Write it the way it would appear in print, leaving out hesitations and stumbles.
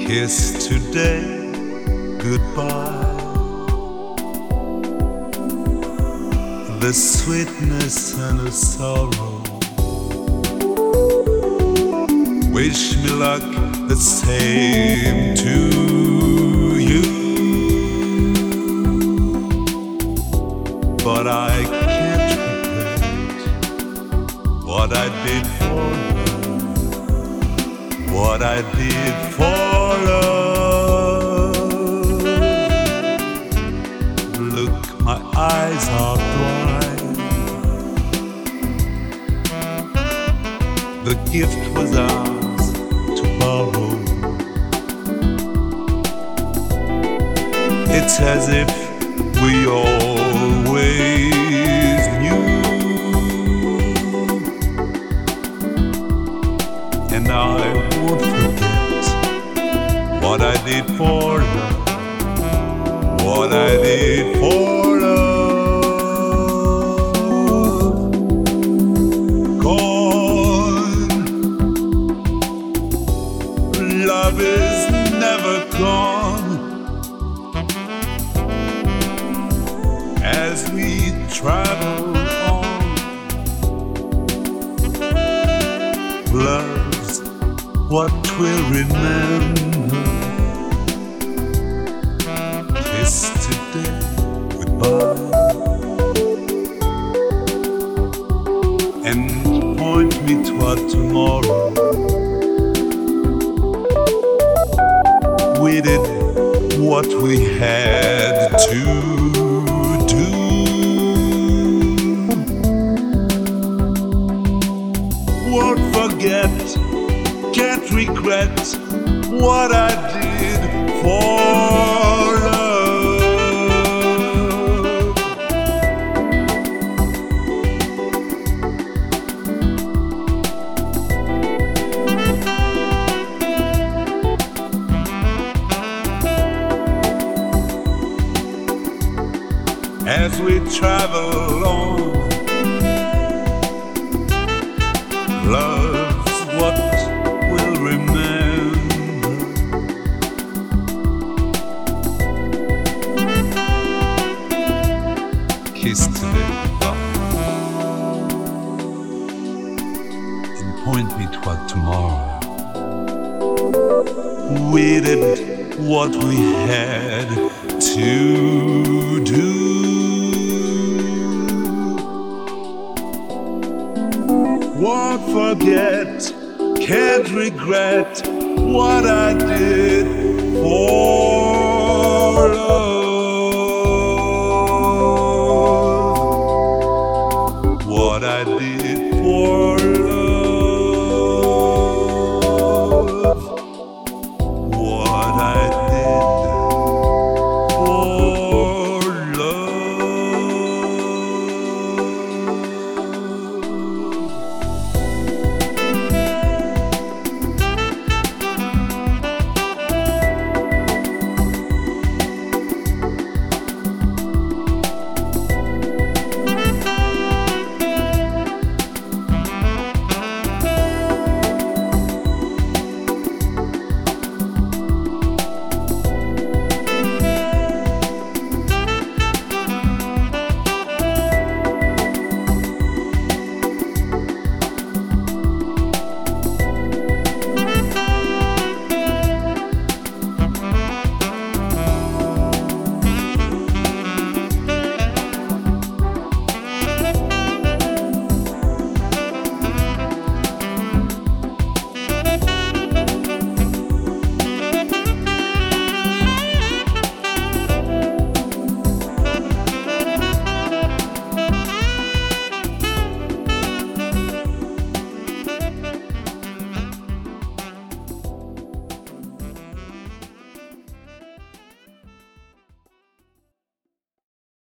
Kiss today, goodbye. The sweetness and the sorrow. Wish me luck the same to you. But I can't regret what I did for love, what I did for love. Look, my eyes are dry. The gift was ours to borrow. It's as if we always knew. And I won't forget what I did for love, what I did for love. Gone, love is never gone. As we travel on, love's what we'll remember. Kiss today, goodbye, and point me toward tomorrow. We did what we had to do. Won't forget, can't regret what I did for love. As we travel on, love's what we'll remember. Kiss today, and point me toward tomorrow. We did what we had to do. Won't forget, can't regret what I did